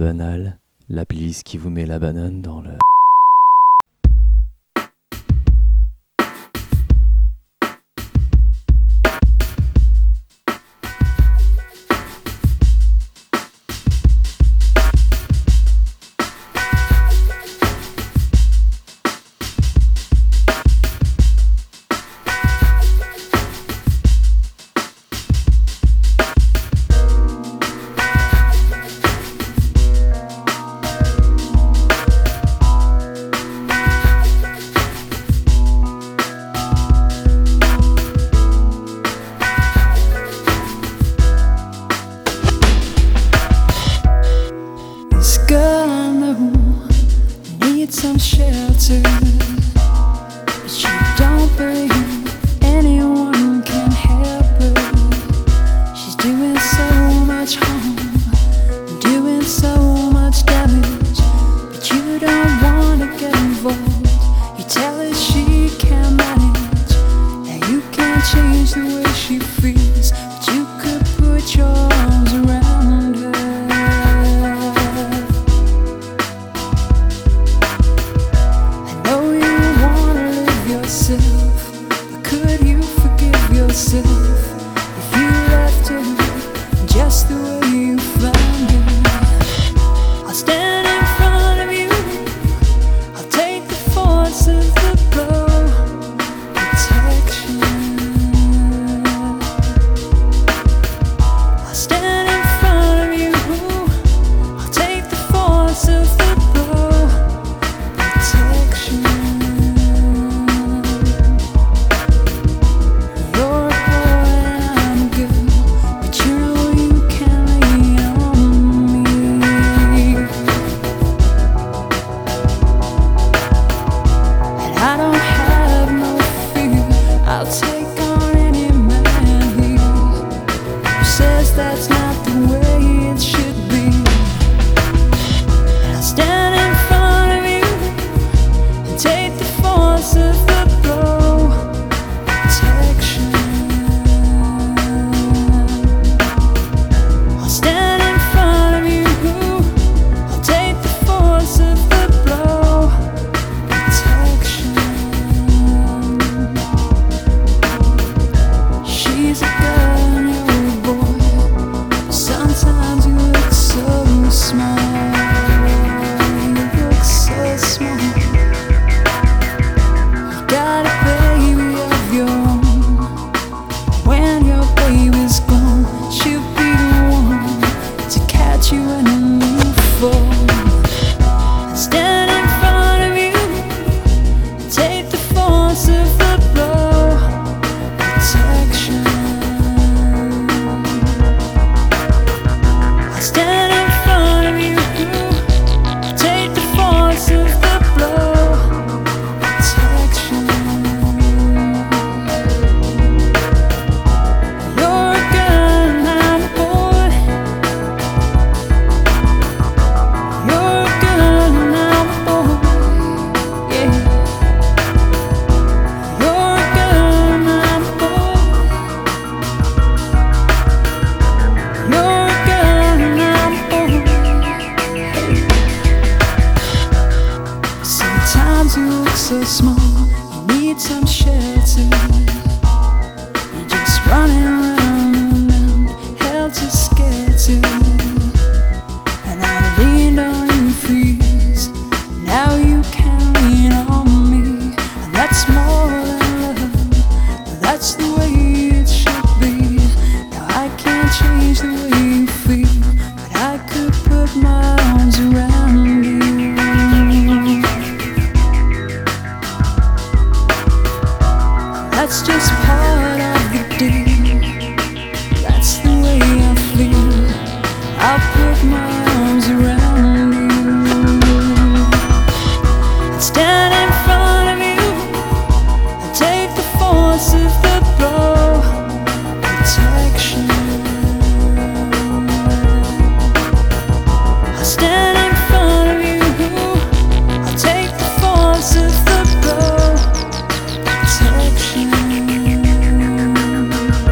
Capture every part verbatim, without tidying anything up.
banal, la playlist qui vous met la banane dans le... Girl, I know you need some shelter, but you don't believe anyone can help her. She's doing so much harm, doing so much damage, but you don't wanna get involved. You tell her she can't manage, and you can't change the way she feels, but you could put your arms around her. But could you forgive yourself if you left her just the way you found her? I'll stand in front of you, I'll take the force of the blow, protection. I'll stand in front of you, I'll take the force of the blow, protection. That's not the way it should be. And I'll stand in front of you and take the force of the blow, protection. I'll stand in front of you, I'll take the force of the blow, protection. She's a girl, you're a boy. Sometimes you look so small, you look so small. You got a baby of your own. When your baby's gone, she'll be the one to catch you when you fall. And stand in front of you and take the force of the blow, protection. Stand in front of you, take the force of the blow, protection. You're a girl and I'm a boy. You're a girl and I'm a boy, yeah. You're a girl and I'm a boy. You're a girl and I'm a boy. Sometimes you look so small, you need some shelter. You're just running around and around, held too scared to. And I leaned on you for years, now you can lean on me. And that's more than love, that's the way it should be. Now I can't change the way you feel, but I could put my arms around you. That's just part of the deal, that's the way I feel. I'll put my arms around you and stand in front of you and take the force of the blow, protection. I'll stand in front of you, I'll take the force of the blow, protection.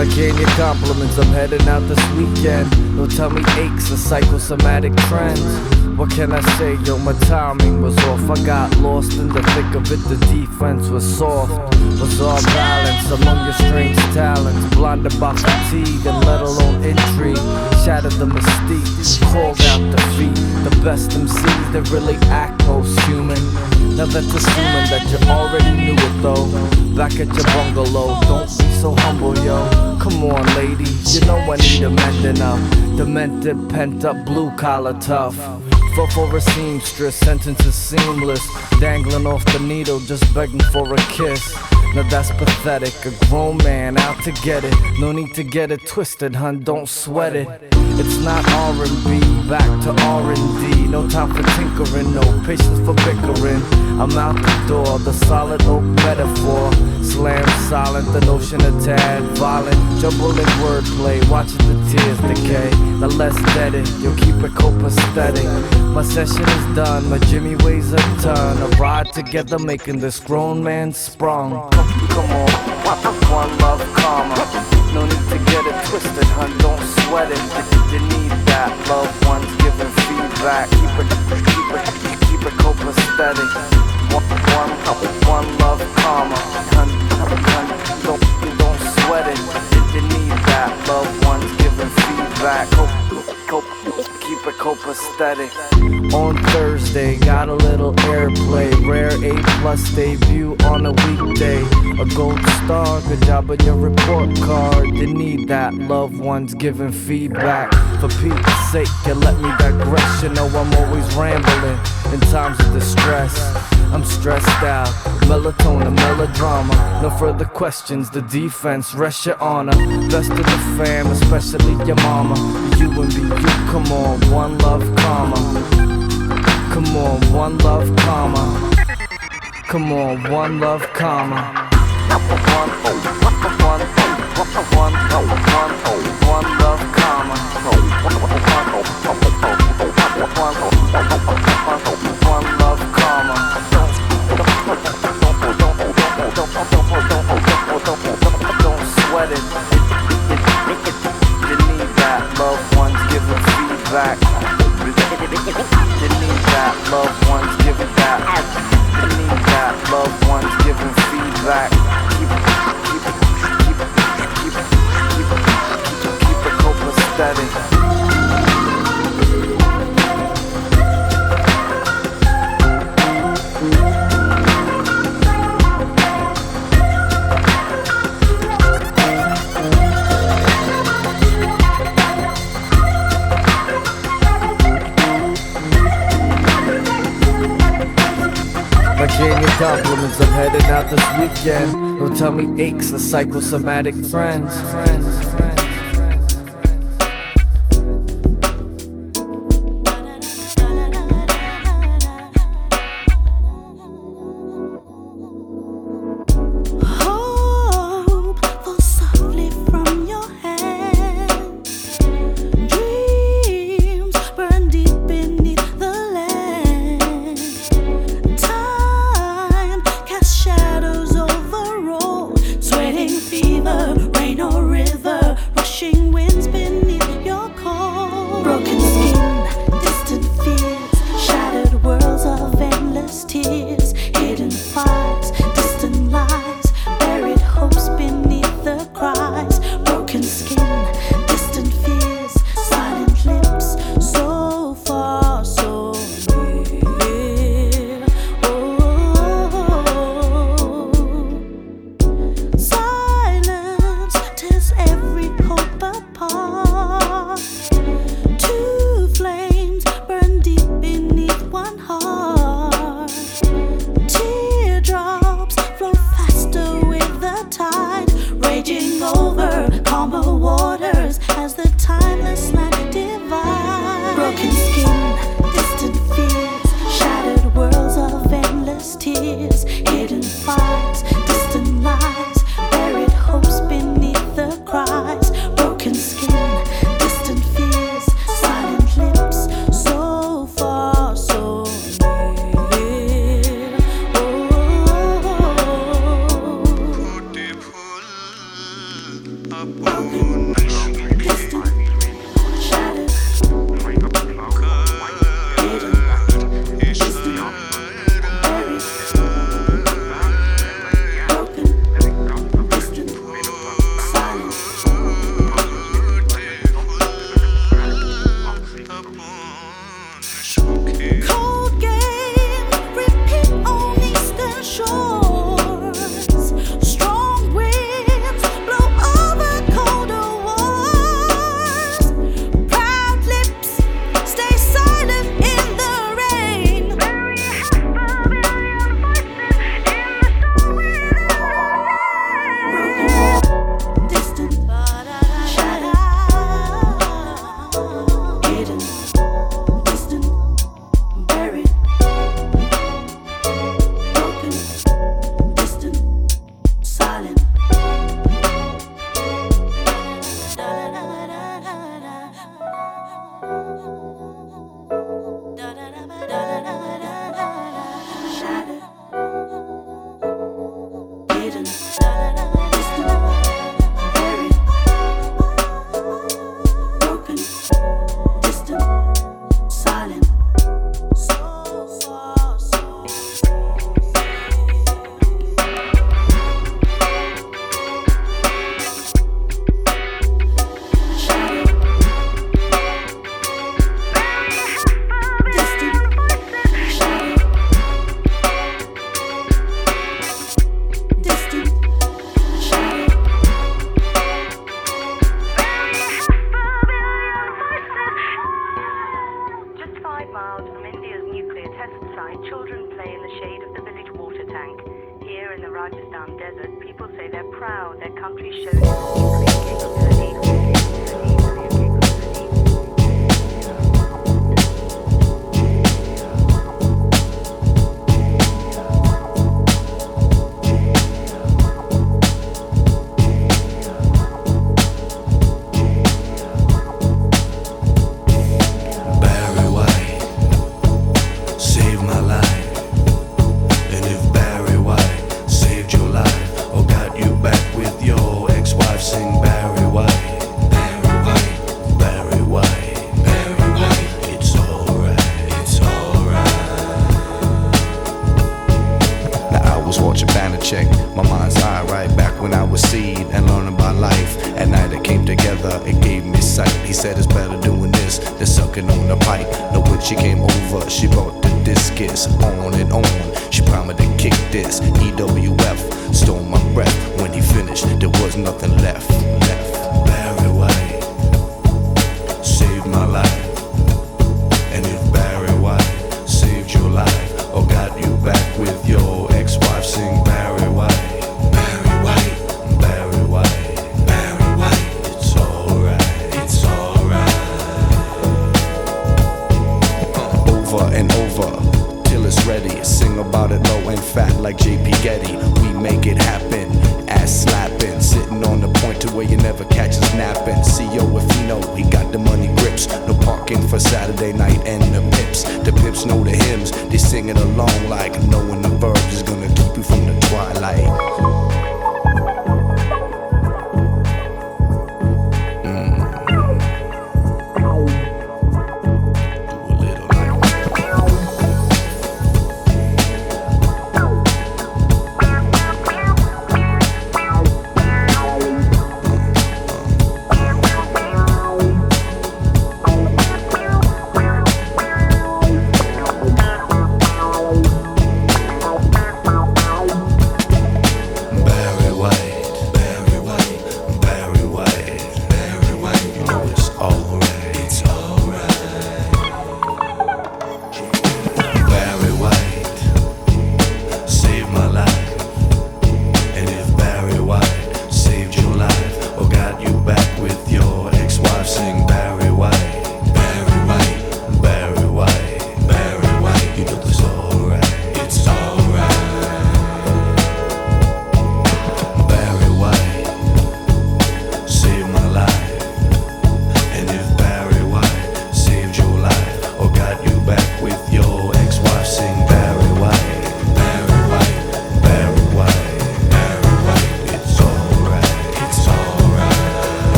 I gain your compliments, I'm heading out this weekend. Don't tell me aches or psychosomatic trends. What can I say, yo, my timing was off. I got lost in the thick of it, the defense was soft. Was all balance among your strange talents. Blinded by fatigue and let alone intrigue. Shattered the mystique, called out defeat. The best M Cs that really act most human. Now that's assuming that you already knew it though. Back at your bungalow, don't be so humble, yo. Come on, lady, you know I need a mending up. Demented, pent up, blue collar tough. For, for a seamstress, sentences seamless. Dangling off the needle, just begging for a kiss. Now that's pathetic, a grown man out to get it. No need to get it twisted, hun, don't sweat it. It's not R and B, back to R and D. No time for tinkering, no patience for bickering. I'm out the door, the solid oak metaphor. Slam silent, the notion of tad violent. Jumble in wordplay, watching the tears decay. Now let's dead it, you'll keep it copacetic. My session is done, my Jimmy weighs a ton. A ride together making this grown man sprung. Come on, one love karma. No need to get it twisted, hun, don't sweat it. You need that, loved ones giving feedback. Keep it, keep it, keep it copacetic. One, one, one love karma. Hun, hun, don't, don't sweat it. You need that, loved ones giving feedback. Cope, cope, keep it copacetic. On Thursday, got a little airplay. Rare A plus debut on a weekday. A gold star, good job on your report card. You need that, loved ones giving feedback. For Pete's sake, you let me digress. You know I'm always rambling in times of distress. I'm stressed out, melatonin, melodrama. No further questions, the defense, rest your honor. Best of the fam, especially your mama. You and me, you, come on, one love karma. Come on, one love karma. Come on, one love karma. One, one, one, one, one, one love karma. One love karma. Don't sweat it. You need that, loved ones giving feedback. You need that, loved ones giving that. You need that, loved ones giving feedback. Keep it, keep it, keep it, keep it, keep it, keep it, keep it copacetic. I gain your compliments, I'm headed out this weekend. Don't tell me aches or psychosomatic friends.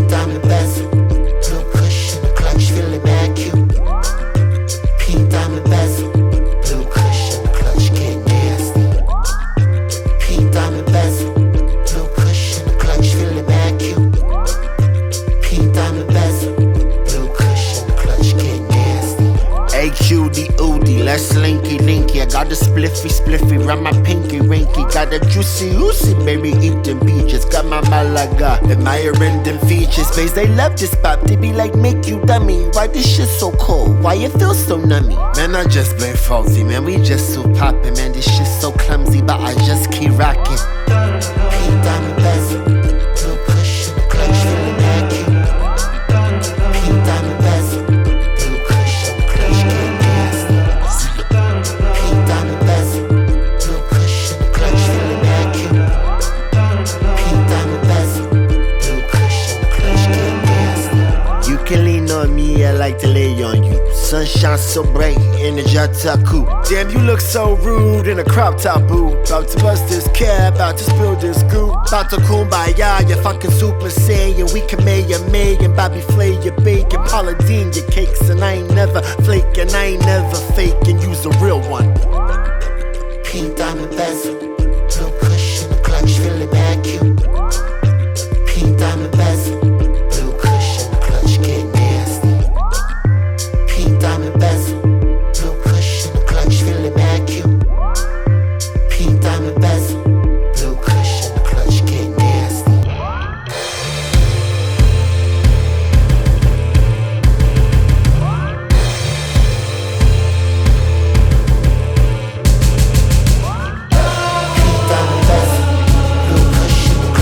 Pink diamond bezel, blue cushion, the clutch feeling mad cute. Pink diamond bezel, blue cushion, the clutch get nasty. Pink diamond bezel, blue cushion, the clutch feeling mad cute. Pink diamond bezel, blue cushion, the clutch get nasty. A Q D Oodie, let's linky linky. I got a spliffy spliffy, round my pinky rinky. Got a juicy oozy, baby eating peaches. Got my Malaga, admiring them features. Bays, they love this pop, they be like, make you dummy. Why this shit so cold? Why it feel so nummy? Man, I just been faulty, man, we just so poppin'. Man, this shit so clumsy, but I just keep rockin'. Pink diamond bezel, blue cushion, the clutch feeling mad cute. Pink diamond bezel, blue cushion, the clutch get nasty. Pink diamond bezel, blue cushion, the clutch feeling mad cute. Pink diamond bezel, blue cushion, the clutch get nasty. You can lean on me, I like to lay on you. Sunshine so bright in the Jetta coupe. Damn, you look so rude in a crop top boot. About to bust this cab, about to spill this goop. About to kumbaya, you fucking super saiyan. We can make a million, Bobby Flay your bacon, Paula Deen your cakes. And I ain't never flaking, I ain't never faking. You's a real one. Pink diamond bezel, blue cushion, the clutch feeling mad cute. Pink diamond bezel, blue cushion, the clutch get nasty. Pink diamond bezel, blue cushion, the clutch feeling mad cute. Pink diamond bezel, blue cushion, the clutch get nasty. Pink diamond bezel, blue cushion, the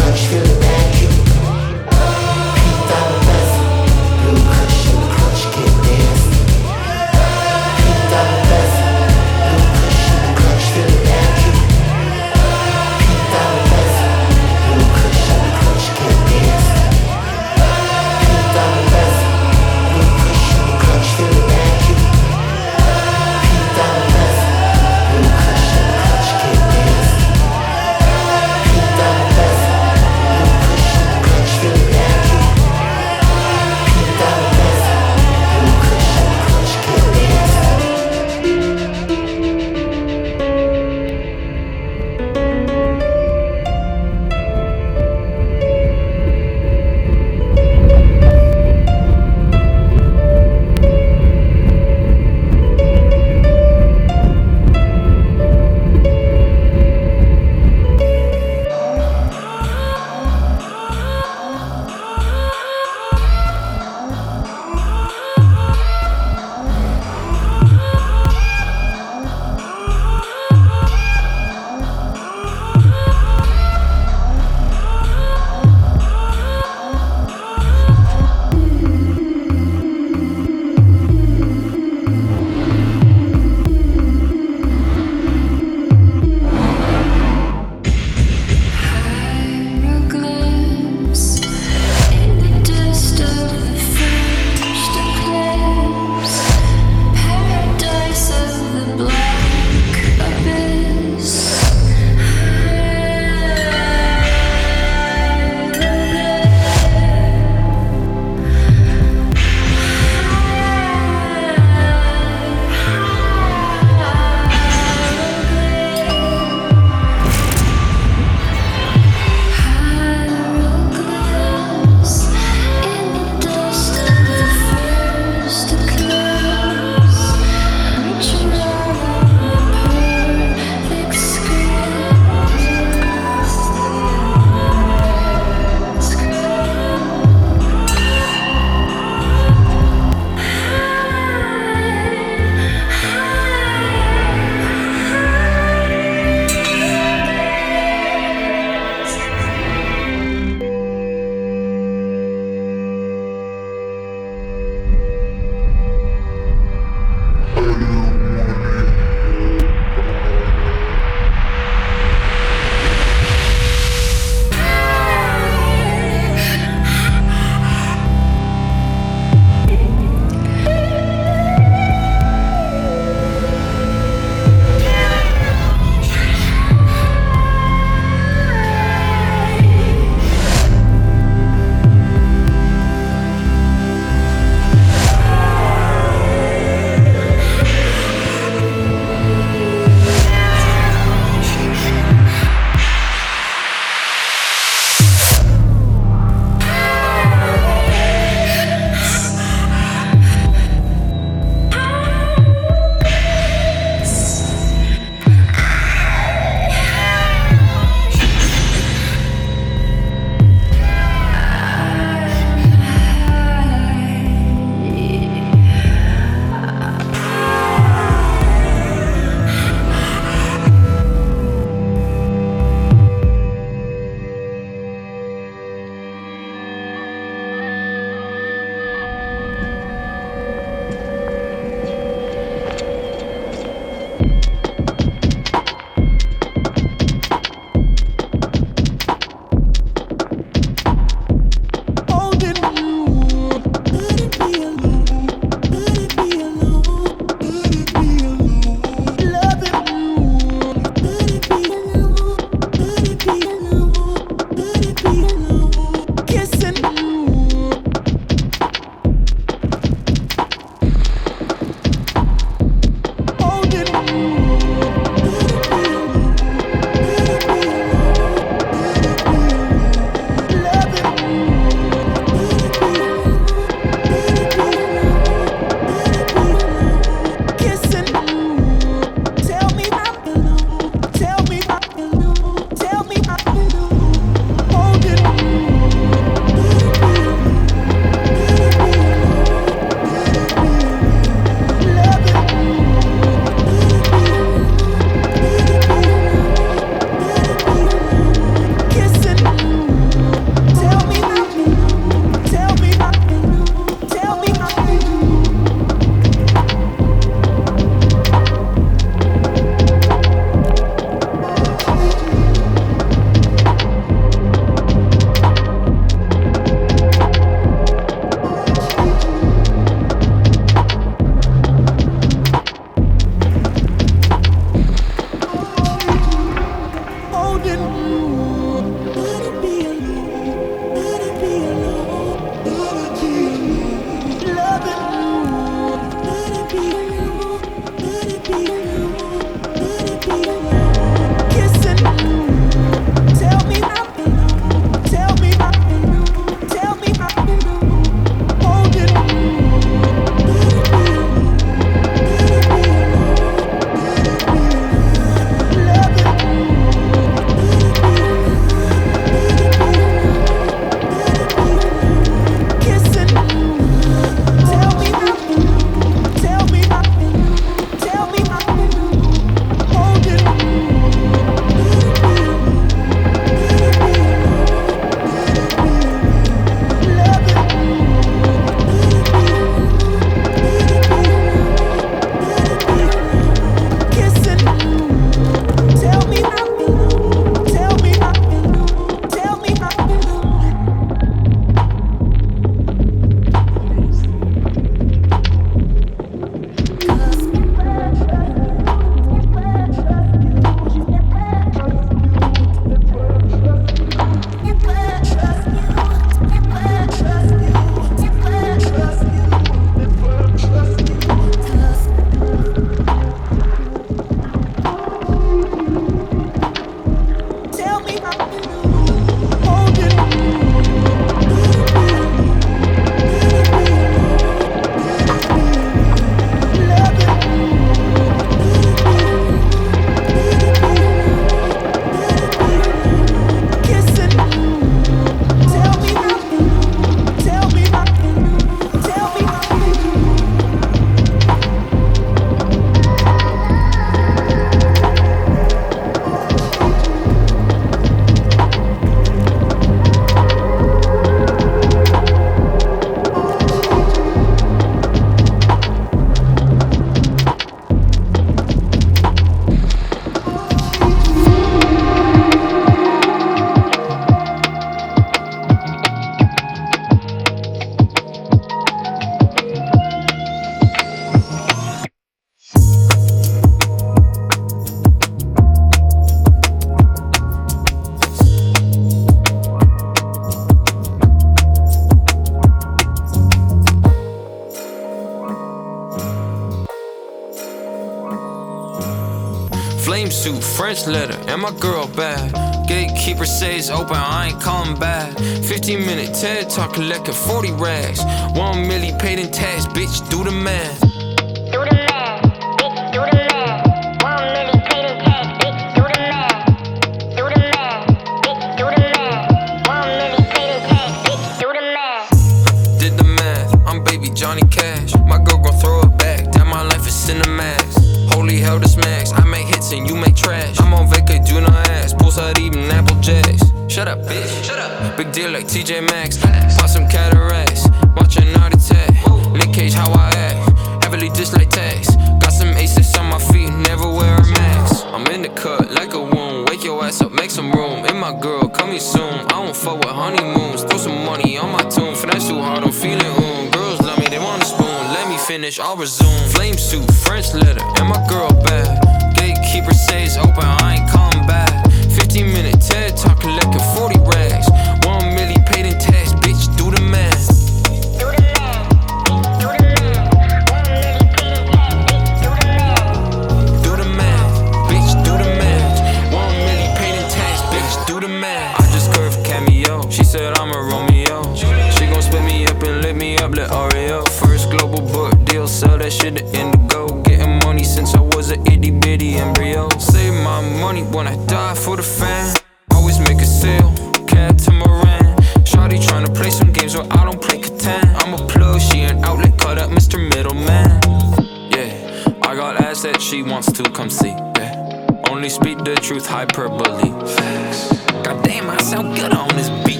suit, French letter, and my girl bad. Gatekeeper says open, I ain't calling back. fifteen minute TED talk, collecting forty rags. One milli paid in tax, bitch, do the math. Do the math, bitch, do the math. One milli paid in tax, bitch, do the math. Do the math, bitch, do the math. One milli paid in tax, bitch, do the math. Did the math, I'm baby Johnny Cash. My girl gon' throw it back, that my life is Cinemax. Holy hell, this max, I make hits and you make trash. I'm on vacay, do not ask, poolside eating Apple Jacks. Shut up, bitch, shut up. Big deal like T J Maxx. Bought some cataracts, watch a night attack. Nick Cage, how I act, heavily dislike tax. Got some aces on my feet, never wear a mask. I'm in the cut like a wound, wake your ass up, make some room. And my girl, coming soon, I don't fuck with honeymoons. Throw some money on my tune, finesse too hard, I'm feeling oom. Girls love me, they want a spoon, let me finish, I'll resume. Flame suit, French letter, and my girl bad. Gatekeeper says open, I ain't calling back. fifteen minute TED talk, collecting forty rags. One milli paid in tax, bitch, do the math. Do the math, bitch, do the math. One milli paid in tax, bitch, do the math. Do the math, bitch, do the math. One milli paid in tax, bitch, do the math. I just curved cameo, she said I'm a Romeo. She gon' split me up and lit me up like Oreo. First global book deal, sell that shit to Indigo. Getting money since I was an itty bitty embryo. Save my money when I die for the fan. Always make a sale, catamaran. Shawty tryna play some games where I don't play Catan. I'm a plug, she an outlet, cut up Mister Middleman. Yeah, I got ass that she wants to come see. Yeah, only speak the truth, hyperbole. Facts. Goddamn, I sound good on this beach.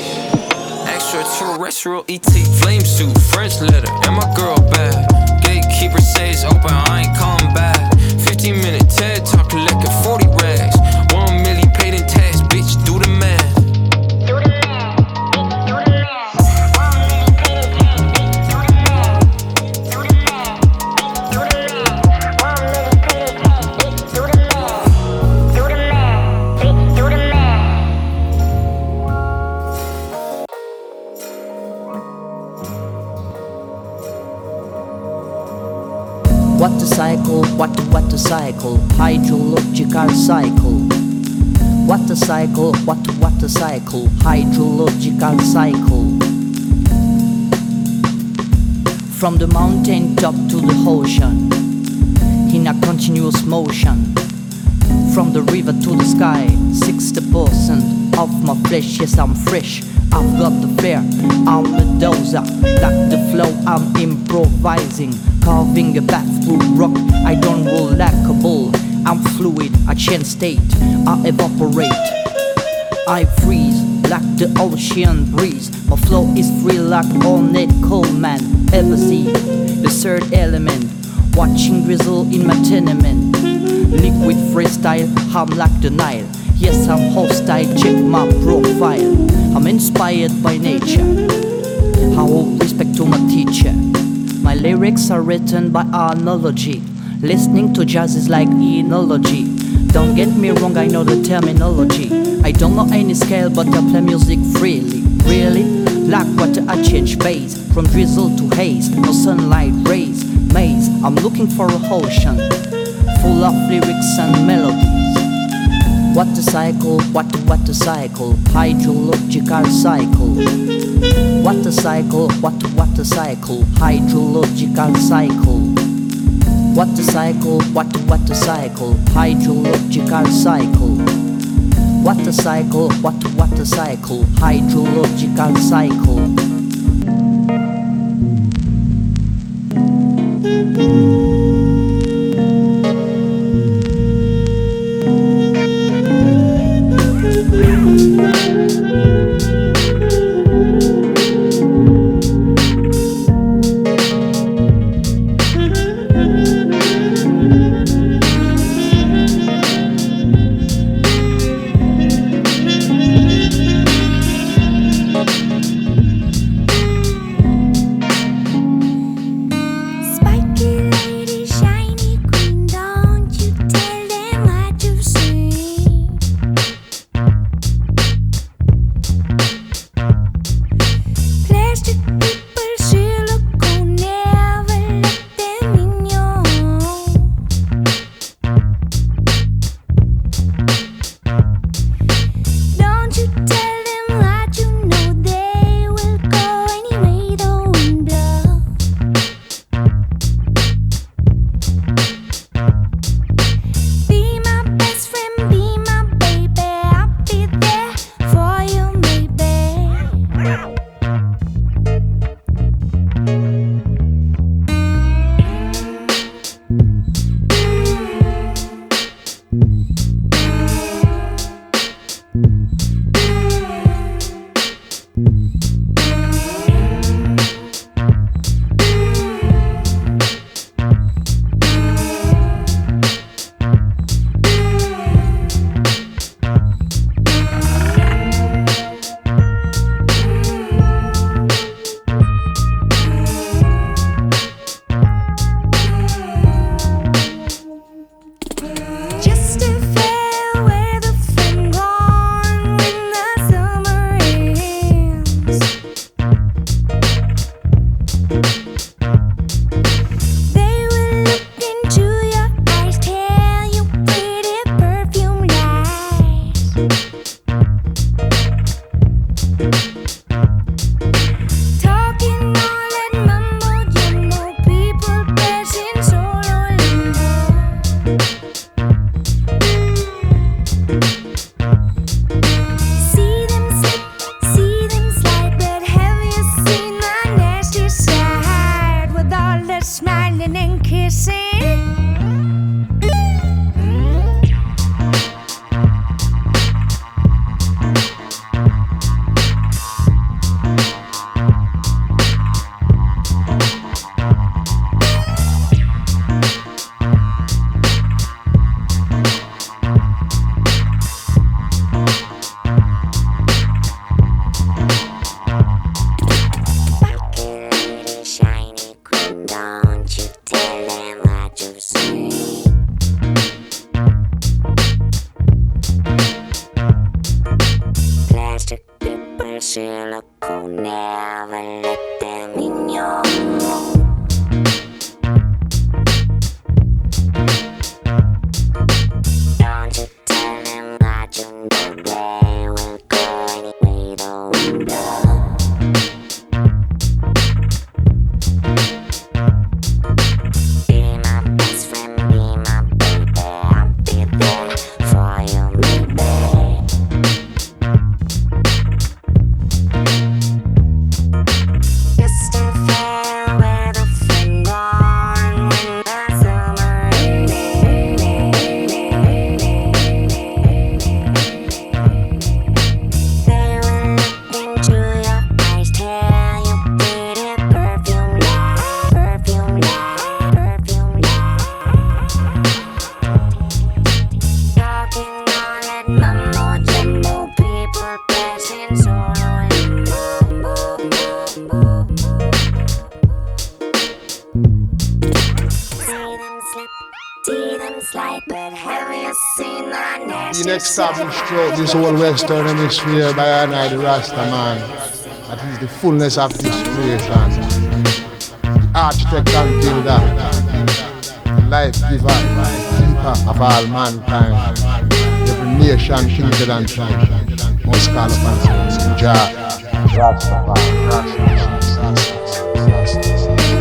Extraterrestrial E T. Flame suit, French letter, and my girl bad. Gatekeeper says open, I ain't calling back. fifteen minute TED talk, collecting forty rags. One milli paid in tax, bitch, do the math. Do the math, bitch, do the math. One milli paid in tax, bitch, do the math. Do the math, bitch, do the math. One milli paid in tax, bitch, do the math. Do the math, bitch, do the math. What a cycle, what what a cycle, hydrological cycle. What a cycle, what what a cycle, hydrological cycle. From the mountain top to the ocean, in a continuous motion. From the river to the sky, sixty percent of my flesh, yes I'm fresh. I've got the flair, I'm a dozer. Like the flow, I'm improvising. Carving a path through rock, I don't roll like a bull. I'm fluid, I change state, I evaporate. I freeze like the ocean breeze. My flow is free like Ornette Coleman. Ever see the third element? Watching drizzle in my tenement. Liquid freestyle, I'm like the Nile. Yes, I'm hostile, check my profile. I'm inspired by nature. I owe respect to my teacher. My lyrics are written by analogy. Listening to jazz is like enology. Don't get me wrong, I know the terminology. I don't know any scale, but I play music freely. Really? Like water, I change bass. From drizzle to haze, no sunlight rays. Maze, I'm looking for a ocean full of lyrics and melodies. What a cycle, what what a cycle, hydrological cycle. What a cycle, what what a cycle, hydrological cycle. What a cycle, what what a cycle, hydrological cycle. What a cycle, what what a cycle, hydrological cycle. ever let them in your room? Don't you tell them that you know they will go anyway the window. Be my best friend, be my baby, I'll be there for you, maybe. Just a fair weather friend on when the summer ended. They will look into your eyes, tell you pretty perfume light, perfume light, perfume light. Talking all that mumbo jumbo, people passing solo and mumbo, mumbo. See them slip, see them slide, but have you seen the nasty The established throughout this whole Western Hemisphere by our night, the Rasta man. That is the fullness of this creation. The architect and builder, the life giver, keeper of all mankind. Every nation, kindred and tribe must call upon him. Jah, Rastafari, Rastafari, Rastafari, Rastafari.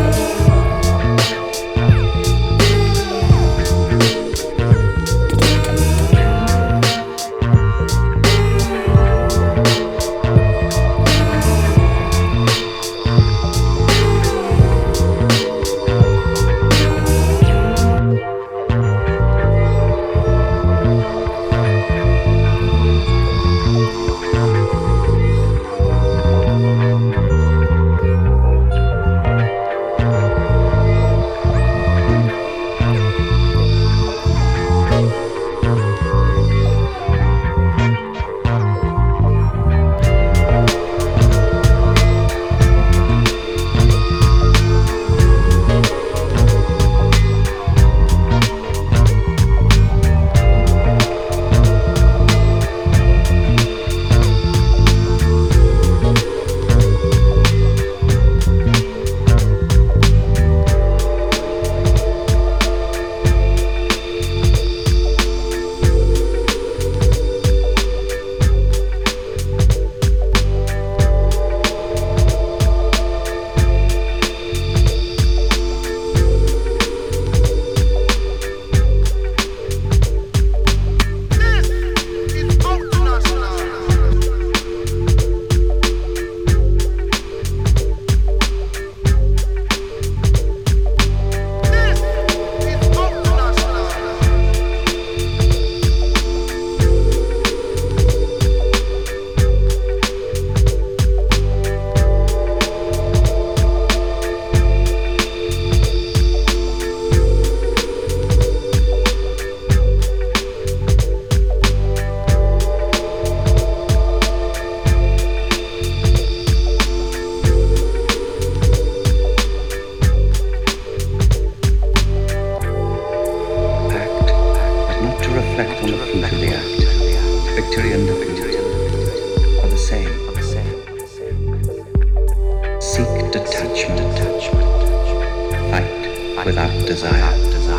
Without desire.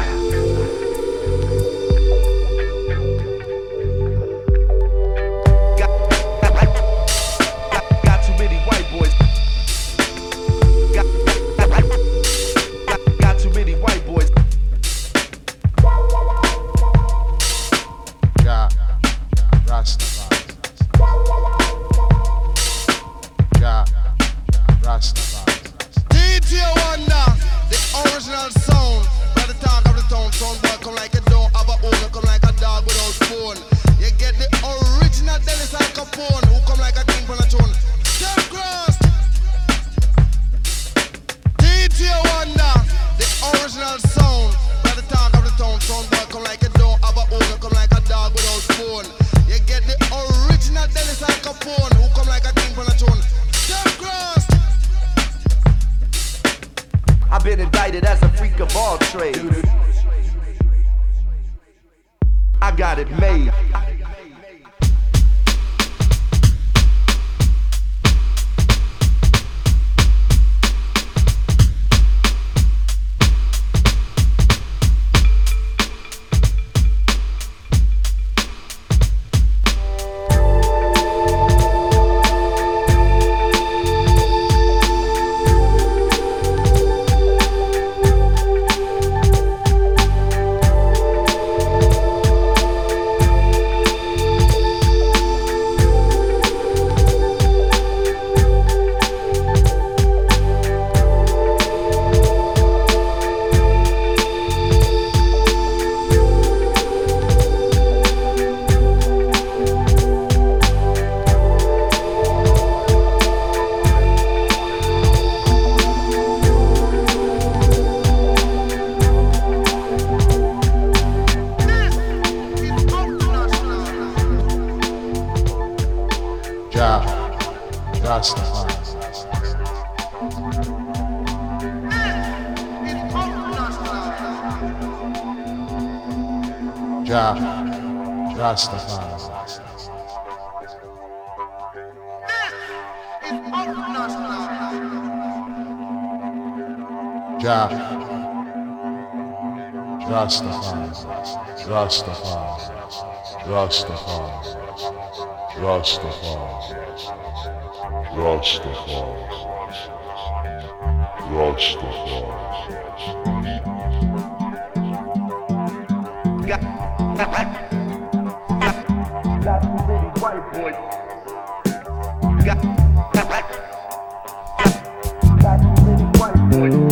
Got too many white boys. Got, got, got too many white boys. Jah, Rastafari. Jah, Rastafari. D J Wonder, the original sound. By the talk of the town, sound boy come like a dog of a owner, come like a dog without bone. You get the original Dennis Al Capone, who come like a king from a tune. Step cross. D J Wonder, the original sound. By the talk of the town, sound boy come like a dog of a owner, come like a dog without bone. You get the original Dennis Al Capone, who come like a king from a tune. Step cross. I've been indicted as a freak of all trades. I got it made. Jah, Rastafari. Jah, Rastafari, Rastafari, Rastafari, Rastafari, Rastafari, Rastafari. White boy. White boy.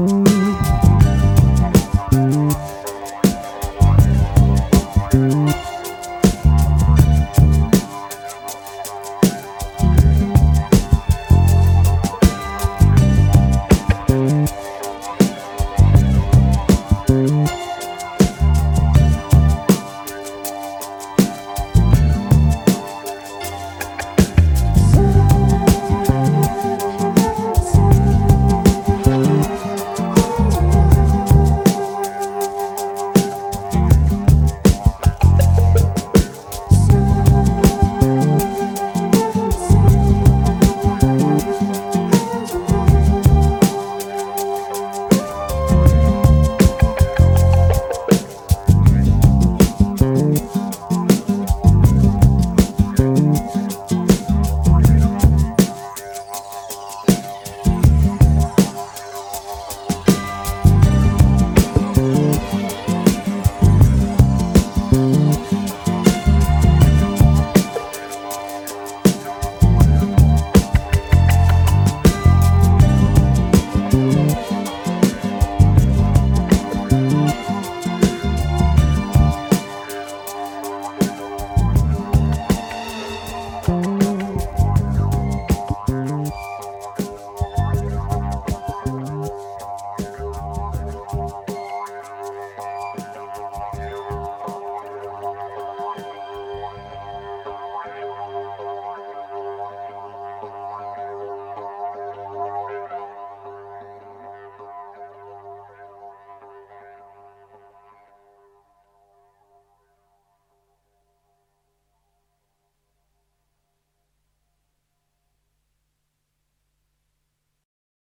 Thank you.